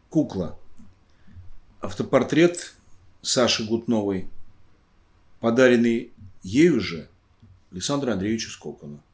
Кукла. Автопортрет Саши Гутновой, подаренный ею же Александру Андреевичу Скокану.